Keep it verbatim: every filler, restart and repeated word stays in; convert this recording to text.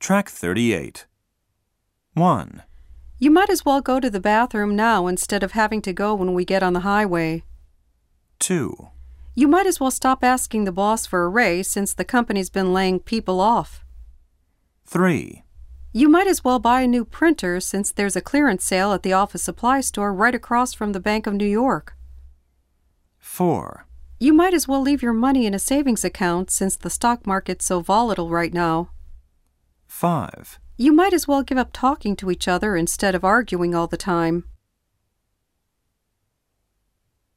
Track thirty-eight. one. You might as well go to the bathroom now instead of having to go when we get on the highway. two. You might as well stop asking the boss for a raise since the company's been laying people off. three. You might as well buy a new printer since there's a clearance sale at the office supply store right across from the Bank of New York. four. You might as well leave your money in a savings account since the stock market's so volatile right now. five. You might as well give up talking to each other instead of arguing all the time.